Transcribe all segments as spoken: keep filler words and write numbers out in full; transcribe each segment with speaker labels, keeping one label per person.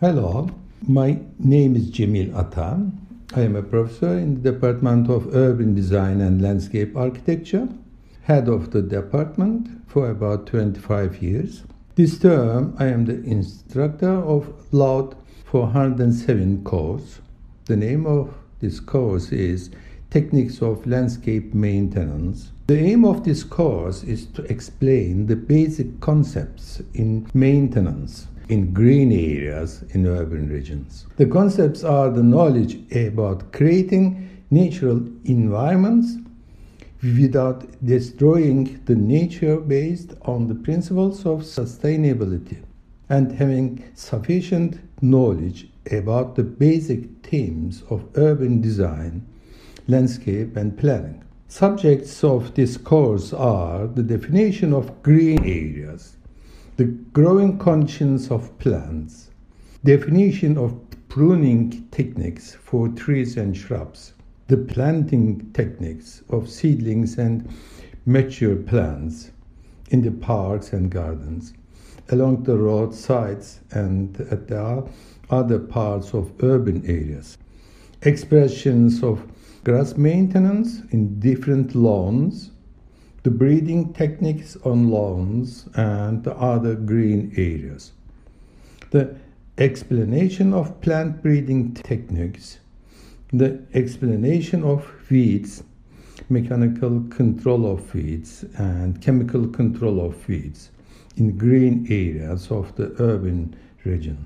Speaker 1: Hello, my name is Cemil Ata. I am a professor in the Department of Urban Design and Landscape Architecture, head of the department for about twenty-five years. This term, I am the instructor of LAUD four hundred seven course. The name of this course is Techniques of Landscape Maintenance. The aim of this course is to explain the basic concepts in maintenance in green areas in urban regions. The concepts are the knowledge about creating natural environments without destroying the nature based on the principles of sustainability, and having sufficient knowledge about the basic themes of urban design, landscape and planning. Subjects of this course are the definition of green areas, the growing conditions of plants, definition of pruning techniques for trees and shrubs, the planting techniques of seedlings and mature plants in the parks and gardens, along the roadsides and at the other parts of urban areas, expressions of grass maintenance in different lawns, the breeding techniques on lawns and the other green areas, the explanation of plant breeding techniques, the explanation of weeds, mechanical control of weeds and chemical control of weeds in green areas of the urban region,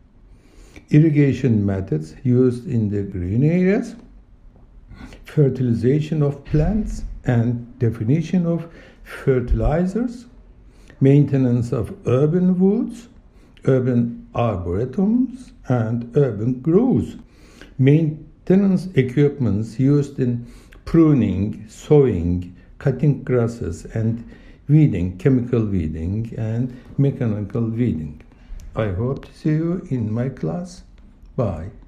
Speaker 1: irrigation methods used in the green areas, fertilization of plants and definition of fertilizers, maintenance of urban woods, urban arboretums and urban groves, maintenance equipments used in pruning, sowing, cutting grasses and weeding, chemical weeding and mechanical weeding. I hope to see you in my class. Bye.